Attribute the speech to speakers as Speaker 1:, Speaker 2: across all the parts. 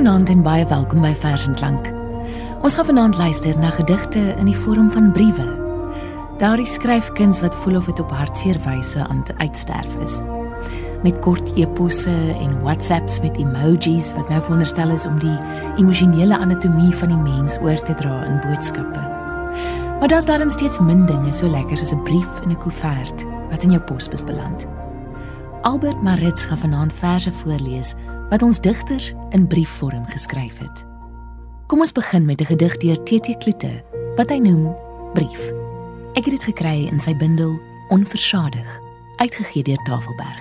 Speaker 1: Goeienaand en baie welkom by Vers en Klank. Ons gaan vanaand luister na gedigte in die vorm van briewe. Daardie skryfkuns wat voel of dit op hartseer wyse aan te uitsterf is. Met kort e-posse en WhatsApps met emojis wat nou veronderstel is om die emosionele anatomie van die mens oor te dra in boodskappe. Maar daar's daarom steeds min dinge so lekker soos 'n brief in 'n koevert wat in jou posbus beland. Albert Maritz gaan vanaand verse voorlees wat ons digter in briefvorm geskryf het. Kom ons begin met 'n gedig deur T.T. Kloete, wat hy noem Brief. Ek het dit gekry in sy bundel Onversadig, uitgegee deur Tafelberg.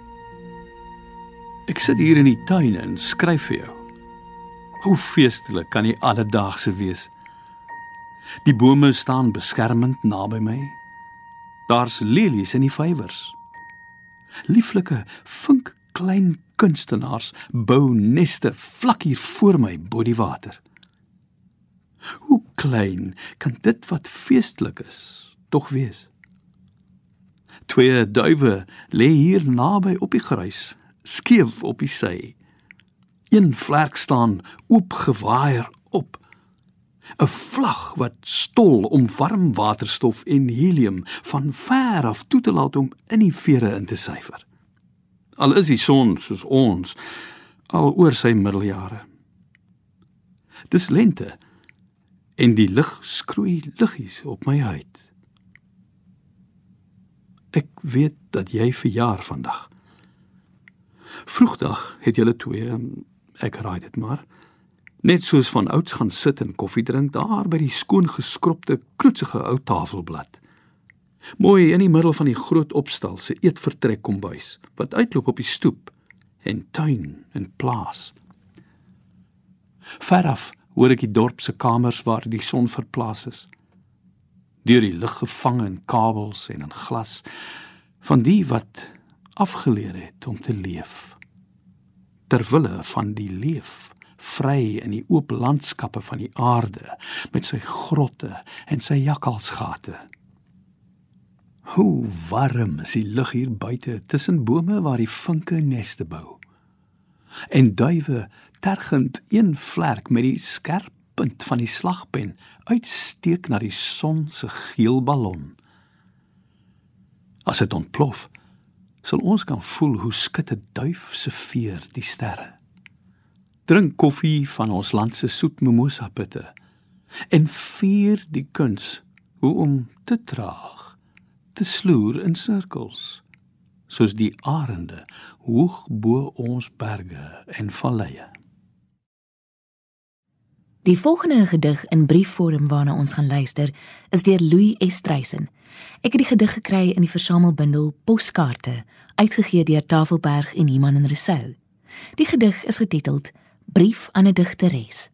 Speaker 2: Ek sit hier in die tuin en skryf vir jou. Hoe feestelik kan die alledaagse wees. Die bome staan beskermend naby my. Daar's lelies in die vyvers. Lieflike, vink klein kunstenaars bou neste vlak hier voor my bo die water. Hoe klein kan dit wat feestelik is tog wees? 2 duwe lê hier naby op die gruis, skeef op die sy. Een vlerk staan oopgewaaier op. 'n vlag wat stol om warm waterstof en helium van ver af toe te laat om in die vere in te syfer. Al is die son soos ons, al oor sy middeljare. Dis lente, en die lig skroei liggies op my huid. Ek weet dat jy verjaar vandag. Vroegdag het julle 2, ek raai dit maar, net soos van ouds gaan sit en koffie drink daar by die skoon geskropte, kloetsige ou tafelblad. Mooi in die middel van die groot opstal se eetvertrek kombuis, wat uitloop op die stoep, en tuin en plaas. Veraf hoor ek die dorp se kamers waar die son verplaas is. Deur die lig gevang in kabels en in glas, van die wat afgeleer het om te leef. Terwille van die leef, vry in die oop landskappe van die aarde, met sy grotte en sy jakkalsgate. Hoe warm is die lug hier buite, tussen bome waar die vinke neste bou. En duwe tergend een vlerk met die skerp punt van die slagpen uitsteek na die son se geel ballon. As dit ontplof, sal ons kan voel hoe skud 'n duif se veer die sterre. Drink koffie van ons land se soet mimosa pitte en vier die kuns hoe om te traag, te sloer in sirkels, soos die arende hoog bo ons berge en valleie.
Speaker 1: Die volgende gedig in briefvorm waarna ons gaan luister, is deur Louis Estreisen. Ek het die gedig gekry in die versamelbundel Poskaarte, uitgegee deur Tafelberg en Iman en Rousseau. Die gedig is getiteld Brief aan 'n digteres.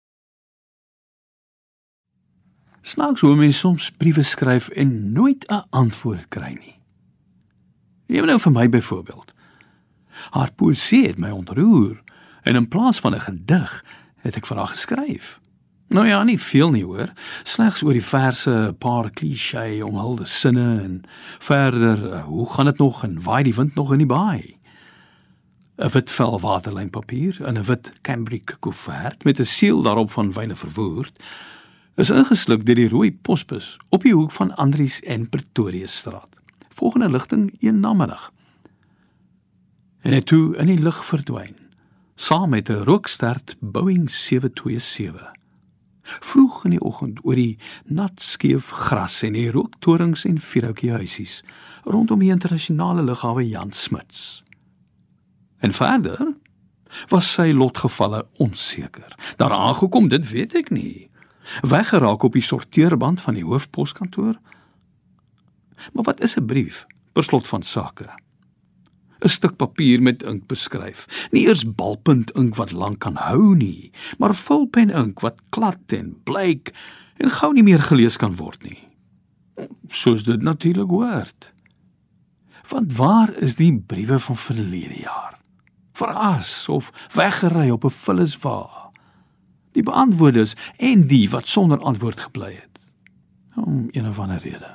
Speaker 2: Snaaks hoe mens soms briewe skryf en nooit 'n antwoord kry nie. Neem nou vir my byvoorbeeld. Haar poesie het my ontroer, en in plaas van 'n gedig, het ek vir haar geskryf. Nou ja, nie veel nie hoor, slegs oor die verse 'n paar cliché omhulde sinne, en verder, hoe gaan dit nog, en waai die wind nog in die baai. 'n wit vel waterlijnpapier in 'n wit cambric koevert met 'n seël daarop van Wyle Verwoerd, is ingesluk deur die rooi posbus op die hoek van Andries en Pretoriusstraat. Volgende ligting 1 namiddag. En het toe in die lug verdwyn, saam met 'n rookstert Boeing 727. Vroeg in die oggend oor die nat skeef gras en die rooktorings en vierhoutjie huisies rondom die internasionale lughawe Jan Smuts. En verder was sy lotgevalle onseker. Daar aangekom, dit weet ek nie. Weggeraak op die sorteerband van die hoofposkantoor. Maar wat is 'n brief, per slot van sake? 'n Stuk papier met ink beskryf. Nie eers balpunt ink wat lank kan hou nie, maar vulpen ink wat klad en blyk en gou nie meer gelees kan word nie. Soos dit natuurlik hoort. Want waar is die briewe van verlede jaar? Veras of weggery op 'n vulliswa. Die beantwoordes en die wat sonder antwoord gebly het. Om een of ander rede.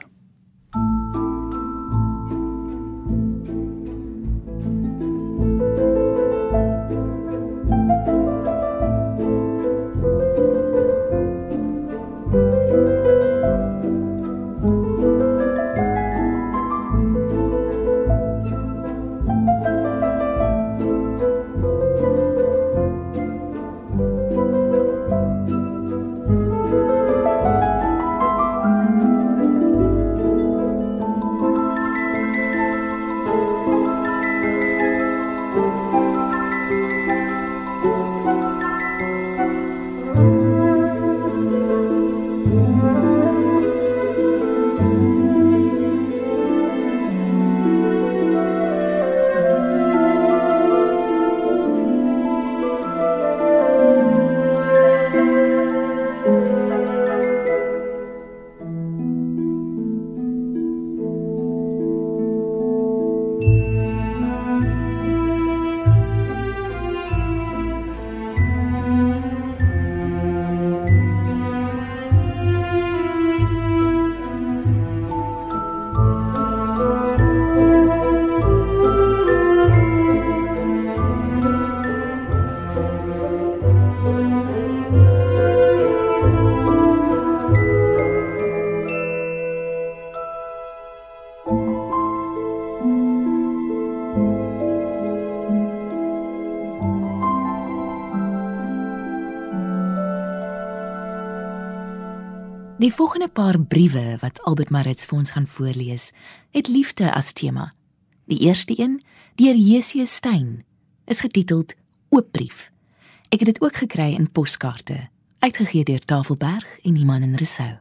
Speaker 1: Die volgende paar briewe wat Albert Maritz vir ons gaan voorlees, het liefde as tema. Die eerste een, deur J.C. Stein, is getiteld Oopbrief. Ek het dit ook gekry in poskaarte, uitgegee deur Tafelberg en Iman en Rousseau.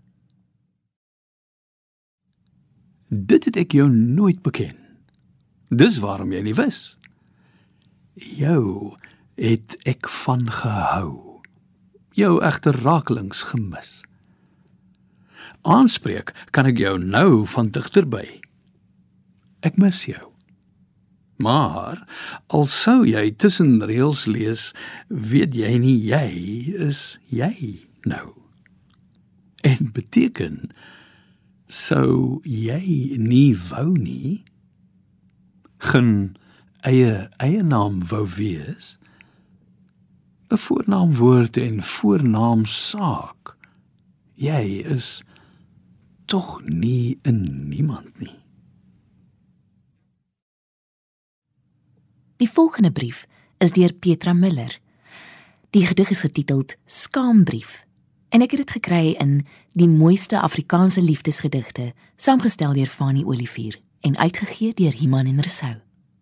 Speaker 2: Dit het ek jou nooit beken. Dis waarom jy nie wis. Jou het ek van gehou. Jou egter rakelings gemis. Aanspreek kan ek jou nou van digterby. Ek mis jou. Maar, al sou jy tussen reëls lees, weet jy nie jy is jy nou. En beteken, sou jy nie wou nie, geen eie naam wou wees, 'n voornaamwoord en voornaamsaak, jy is tog nie in niemand nie.
Speaker 1: Die volgende brief is deur Petra Miller. Die gedig is getiteld Skaambrief en ek het dit gekry in Die mooiste Afrikaanse liefdesgedigte, saamgestel deur Fanie Olivier en uitgegee deur Iman en Rousseau.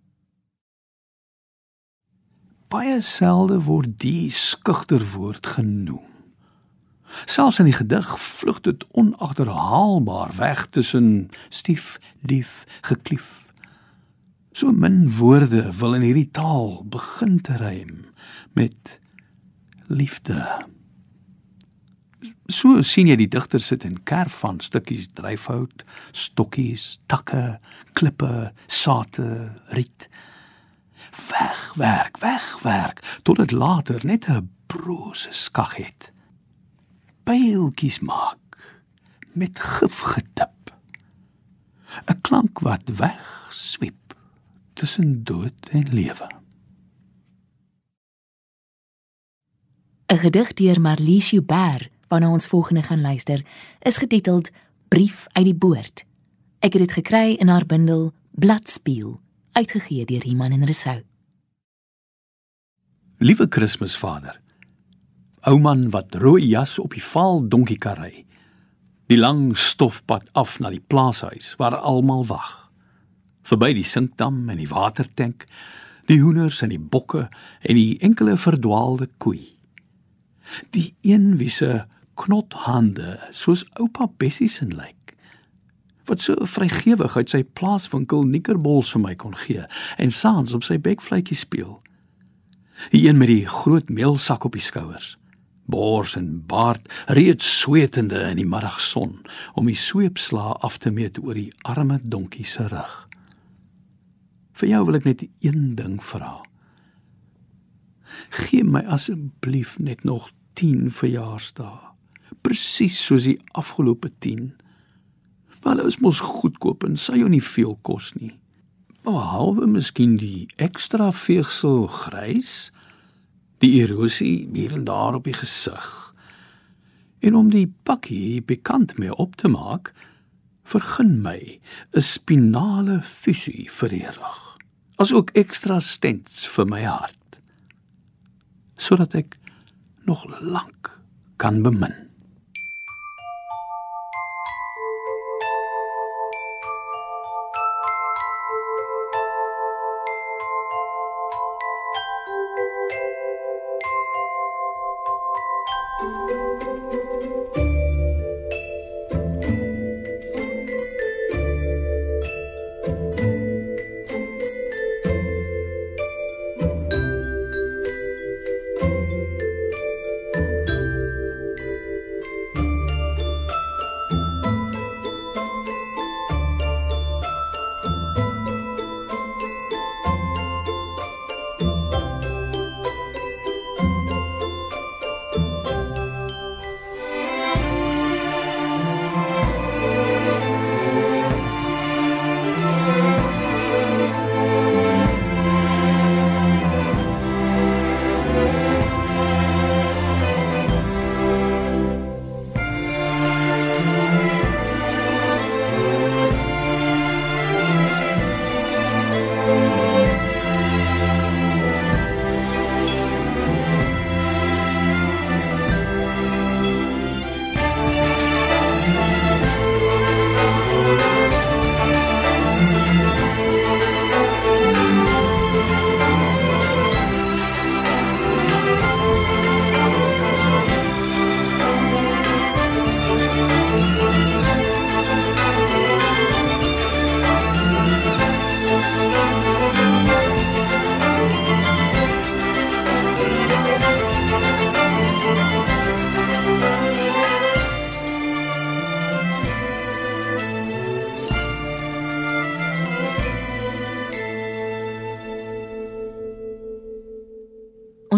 Speaker 2: Baie selde word die skugterwoord genoem. Selfs in die gedig vlug dit onagterhaalbaar weg tussen stief, lief, geklief. So min woorde wil in hierdie taal begin te rym met liefde. So sien jy die digter sit en kerf van stukkies dryfhout, stokkies, takke, klippe, sate, riet. Wegwerk, tot dit later net 'n brose skag het. Pyltjies maak, met gif getip. 'n klank wat wegswiep tussen dood en lewe.
Speaker 1: 'n Gedig deur Marlies Joubert, waarna ons volgende gaan luister, is getiteld Brief uit die Boord. Ek het dit gekry in haar bundel Bladspiel, uitgegee deur Iman en Rousseau.
Speaker 2: Liewe Kersvader, ou man wat rooi jas op die vaal donkiekar ry, die lang stofpad af na die plaashuis waar almal wag, verby die sinkdam en die watertank, die hoenders en die bokke en die enkele verdwaalde koei. Die een wie se knothande soos oupa Bessie se lyk, wat so vrygewig uit sy plaaswinkel nikkerbols vir my kon gee en saans op sy bekvletjie speel. Die een met die groot meelsak op die skouers, bors en baard reeds swetende in die middagson om die sweepslaa af te meet oor die arme donkie se rug. Vir jou wil ek net een ding vra. Gee my asseblief net nog 10 verjaarsdae, presies soos die afgelope 10. Maar hulle is mos goedkoop en sal jou nie veel kos nie. Behalwe miskien die ekstra veegsel grys, die erosie hier en daar op die gesig. En om die pakkie bekend mee op te maak, vergun my 'n spinale fusie vir die rug, as ook ekstra stents vir my hart, sodat ek nog lank kan bemin.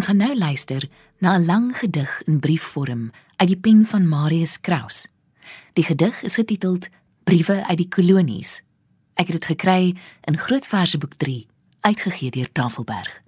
Speaker 1: Ons gaan nou luister na 'n lang gedig in briefvorm uit die pen van Marius Kraus. Die gedig is getiteld Briewe uit die Kolonies. Ek het dit gekry in Grootverseboek 3, uitgegee deur Tafelberg.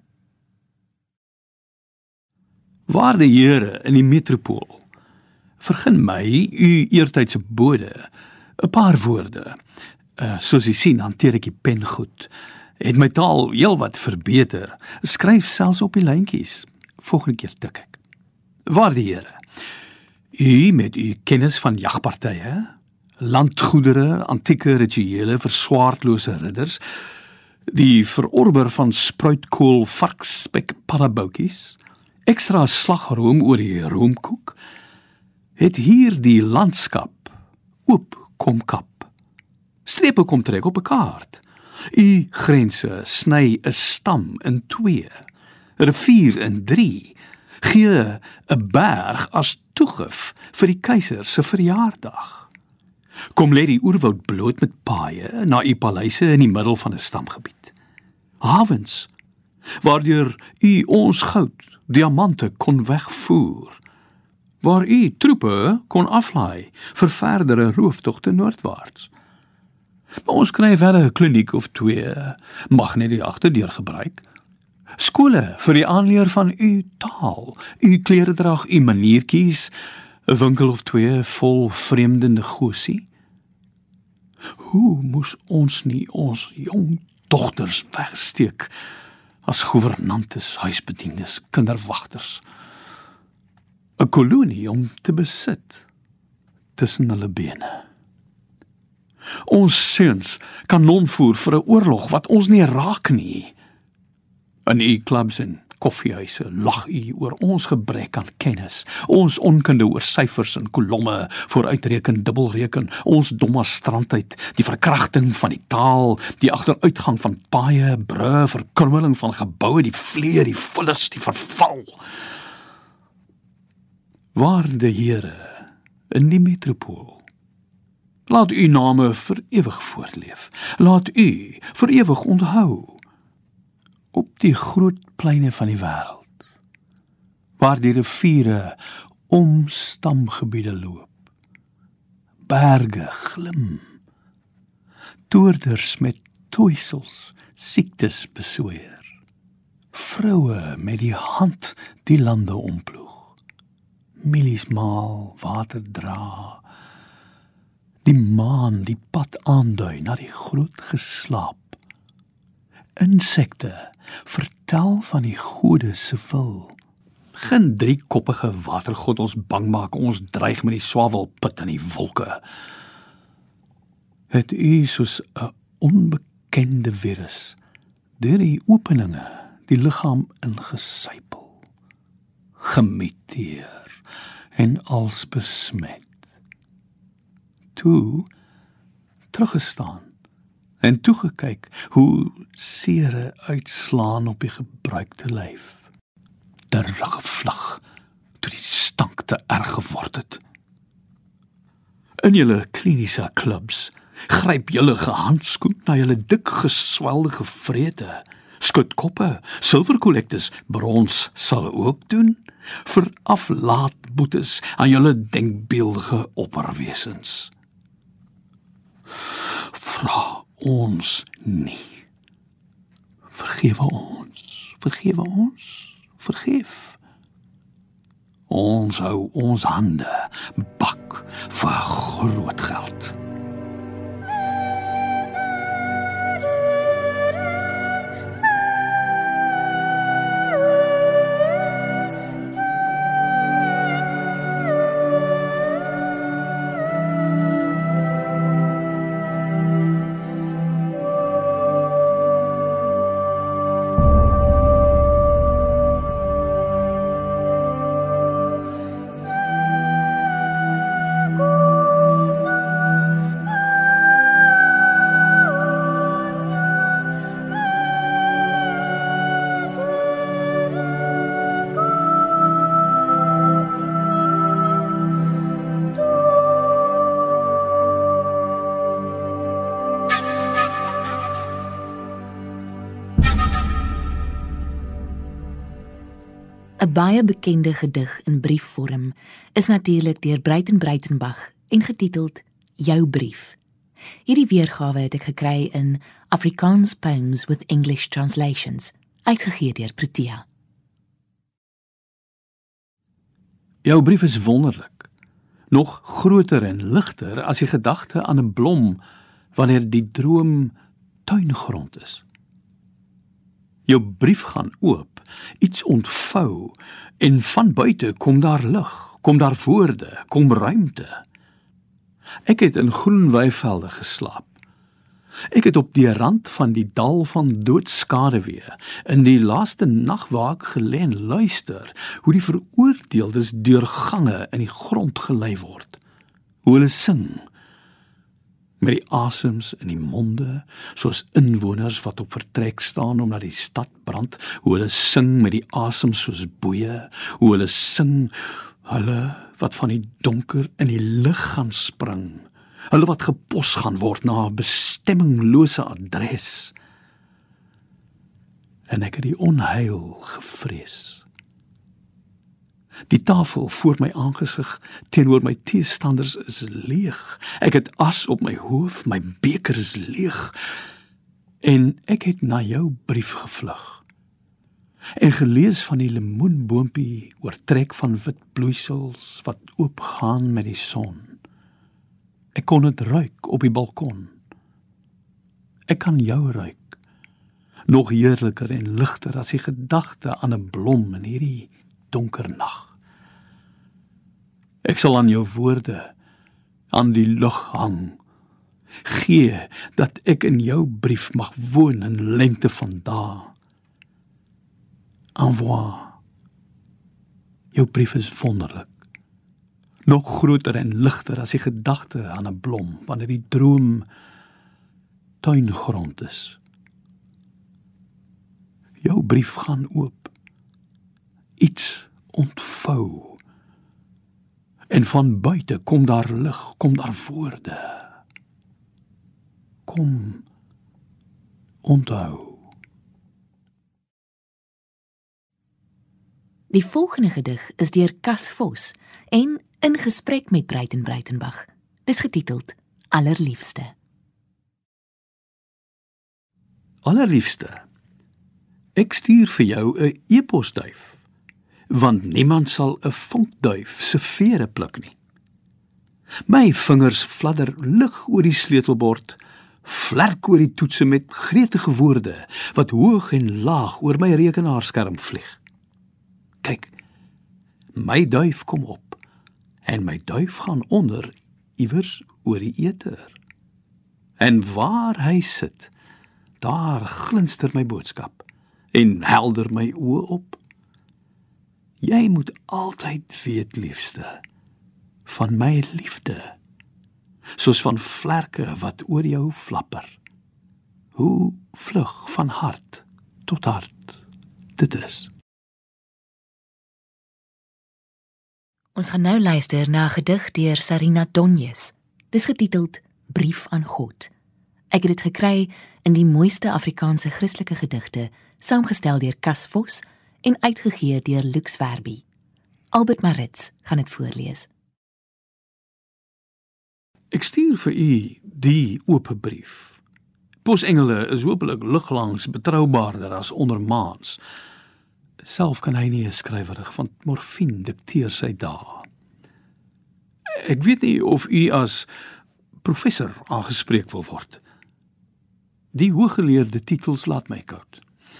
Speaker 2: Waarde Here in die metropool, vergun my, u eertydse bode, 'n paar woorde. Soos u sien, hanteer ek die pen goed. Het my taal heelwat verbeter. Skryf selfs op die lyntjies. Volgende keer tik ek. Waarde Here, u met u kennis van jagpartye, landgoedere, antieke rituele vir swaardlose ridders, die verorber van spruitkool, varkspek, paddaboutjies, ekstra slagroom oor die roomkoek, het hier die landskap oop kom kap. Strepe kom trek op 'n kaart. U grense sny 'n stam in 2, 'n rivier in 3, gee 'n berg as toegif vir die keiser se verjaardag. Kom lê die oerwoud bloot met paaie na u paleise in die middel van 'n stamgebied. Hawens, waardeur u ons goud, diamante kon wegvoer, waar u troepe kon aflaai vir verdere rooftogte noordwaarts. Maar ons kry verder 'n kliniek of 2, mag net die agterdeur gebruik. Skole vir die aanleer van u taal, u kleredrag, u maniertjies, 'n winkel of 2 vol vreemde negosie. Hoe moes ons nie ons jong dogters wegsteek as gouvernantes, huisbediendes, kinderwagters? 'n kolonie om te besit tussen hulle bene. Ons seuns kanon voer vir 'n oorlog wat ons nie raak nie. In u klubs en koffiehuise lag u oor ons gebrek aan kennis, ons onkunde oor syfers en kolomme, vooruitreken, dubbelreken, ons domme strandheid, die verkrachting van die taal, die agteruitgang van paaie, brûe, verkrummeling van geboue, die vleer, die vullis, die verval. Waarde Here in die metropool, laat u name vir ewig voortleef, laat u vir ewig onthou, op die groot pleine van die wêreld, waar die riviere om stamgebiede loop, berge glim, toerders met toeisels, siektes besweer, vroue met die hand die lande omploeg, milies maal, water dra, die maan die pad aandui na die groot geslaap, insekte vertel van die gode se wil. Geen driekoppige watergod ons bang maak, ons dreig met die swawelput in die wolke. Het u soos 'n onbekende virus deur die openinge die liggaam ingesypel, gemuteer en als besmet. Toe teruggestaan en toegekyk hoe sere uitslaan op die gebruikte lyf. Teruggevlug toe die stank te erg geword het. In julle kliniese klubs gryp julle gehandskoen na julle dik geswelde gevrete, skutkoppe, silverkollektes, brons sal ook doen, vir aflaatboetes aan julle denkbeeldige opperwesens. Vra ons nie. Vergewe ons, vergewe ons, vergeef. Ons hou ons hande bak vir groot geld.
Speaker 1: baie bekende gedig in briefvorm is natuurlik deur Breitenbach en getiteld Jou brief. Hierdie weergawe het ek gekry in Afrikaans Poems with English Translations, uitgegee deur Protea.
Speaker 2: Jou brief is wonderlik, nog groter en ligter as die gedagte aan 'n blom wanneer die droom tuingrond is. Jou brief gaan oop, iets ontvou, en van buite kom daar lig, kom daar woorde, kom ruimte. Ek het in groen weivelde geslaap. Ek het op die rand van die dal van doodskaduwee, in die laaste nag waar ek gelê en luister, hoe die veroordeeldes deur gange in die grond gelei word, hoe hulle sing, met die asems in die monde, soos inwoners wat op vertrek staan omdat die stad brand, hoe hulle sing met die asems soos boeie, hoe hulle sing, hulle wat van die donker in die lig gaan spring, hulle wat gepos gaan word na 'n bestemminglose adres. En ek het die onheil gevrees. Die tafel voor my aangesig teenoor my teestanders is leeg. Ek het as op my hoof, my beker is leeg. En ek het na jou brief gevlug. En gelees van die lemoenboompie oortrek van wit bloeisels wat oopgaan met die son. Ek kon het ruik op die balkon. Ek kan jou ruik, nog heerliker en ligter as die gedagte aan 'n blom in hierdie donker nag. Ek sal aan jou woorde, aan die lug hang, gee dat ek in jou brief mag woon in lengte van dae. Envoi. Jou brief is wonderlik, nog groter en ligter as die gedagte aan 'n blom, wanneer die droom tuingrond is. Jou brief gaan oop, iets ontvou, en van buite kom daar lig, kom daar woorde. Kom, onthou.
Speaker 1: Die volgende gedig is deur Cas Vos en in gesprek met Breitenbach. Dis getiteld Allerliefste.
Speaker 2: Allerliefste, ek stuur vir jou 'n e-posduif, want niemand sal 'n vonkduif se vere pluk nie. My vingers fladder lig oor die sleutelbord, vlerk oor die toetse met gretige woorde wat hoog en laag oor my rekenaarskerm vlieg. Kyk, my duif kom op, en my duif gaan onder, iewers oor die eter. En waar hy sit, daar glinster my boodskap, en helder my oë op. Jy moet altyd weet, liefste, van my liefde, soos van vlerke wat oor jou flapper. Hoe vlug van hart tot hart dit is.
Speaker 1: Ons gaan nou luister na 'n gedig deur Sarina Donjes. Dis getiteld Brief aan God. Ek het dit gekry in die mooiste Afrikaanse Christelike gedigte, saamgestel deur Cas Vos en uitgegee deur Lux Verbi. Albert Maritz gaan dit voorlees.
Speaker 2: Ek stuur vir u die oop brief. Posengele is hopelik liglangs betroubaarder as ondermaans. Self kan hy nie 'n skrywerig, want morfine dikteer sy dae. Ek weet nie of u as professor aangespreek wil word. Die hooggeleerde titels laat my koud.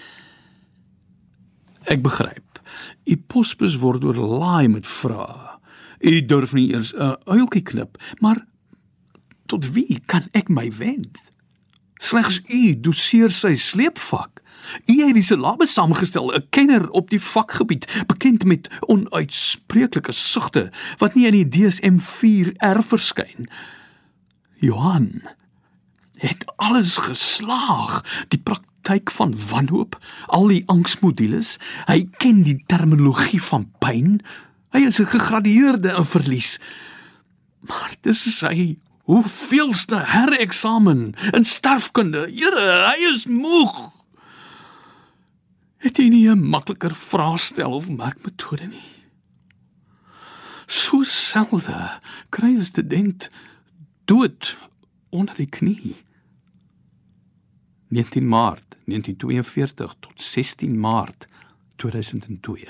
Speaker 2: Ek begryp, u posbus word oorlaai met vrae. U durf nie eers 'n uiltjie knip, maar tot wie kan ek my wend? Slegs u doseer sy sleepvak. U het die syllabus saamgestel, 'n kenner op die vakgebied, bekend met onuitspreeklike sugte, wat nie in die DSM-4R verskyn. Johan het alles geslaag, die praktyk van wanhoop, al die angsmodules, hy ken die terminologie van pyn, hy is 'n gegradueerde in verlies. Maar dis sy hoeveelste hereksamen in sterfkunde, Here, hy is moeg. Het jy nie 'n makliker vraestel of merkmetode nie? So selde kry 'n student dood onder die knie. 19 Maart 1942 tot 16 Maart 2002.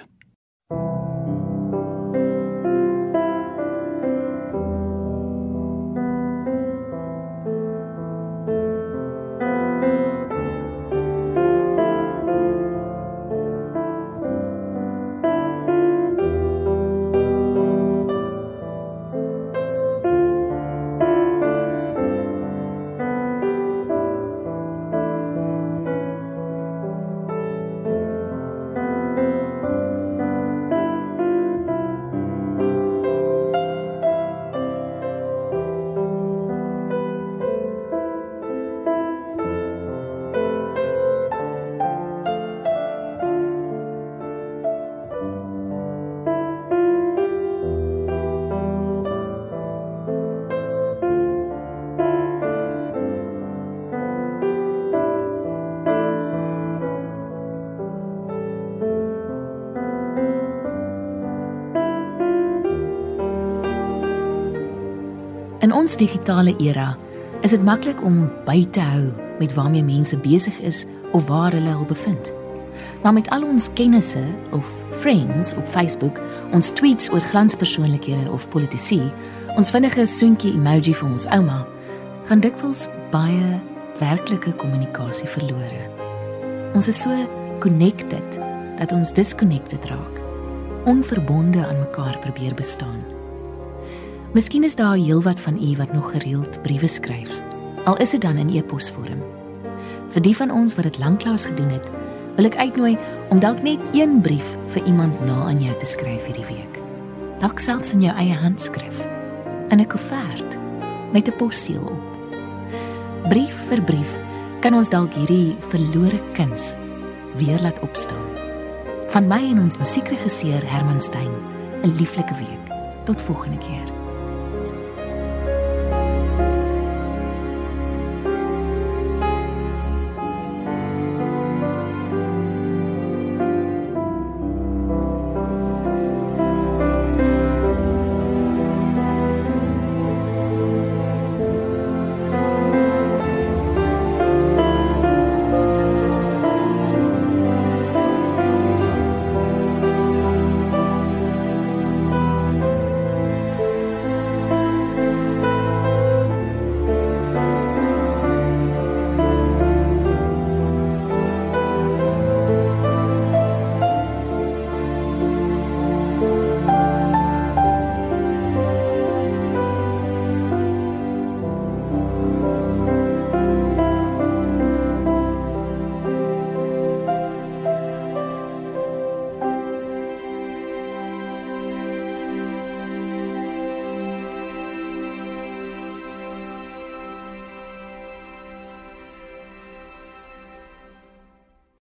Speaker 1: In ons digitale era is dit maklik om by te hou met waarmee mense besig is of waar hulle hul bevind. Maar met al ons kennisse of friends op Facebook, ons tweets oor glanspersoonlikhede of politici, ons vinnige soentjie emoji vir ons ouma, gaan dikwels baie werklike kommunikasie verlore. Ons is so connected dat ons disconnected raak, onverbonde aan mekaar probeer bestaan. Miskien is daar heelwat van u wat nog gereeld briewe skryf, al is dit dan in e-posvorm. Vir die van ons wat dit lanklaas gedoen het, wil ek uitnooi om dalk net een brief vir iemand na aan jou te skryf hierdie week. Dalk selfs in jou eie handskrif, in 'n koevert, met 'n posseël op. Brief vir brief kan ons dalk hierdie verlore kuns weer laat opstaan. Van my en ons musiekregisseur Herman Stein, 'n lieflike week. Tot volgende keer.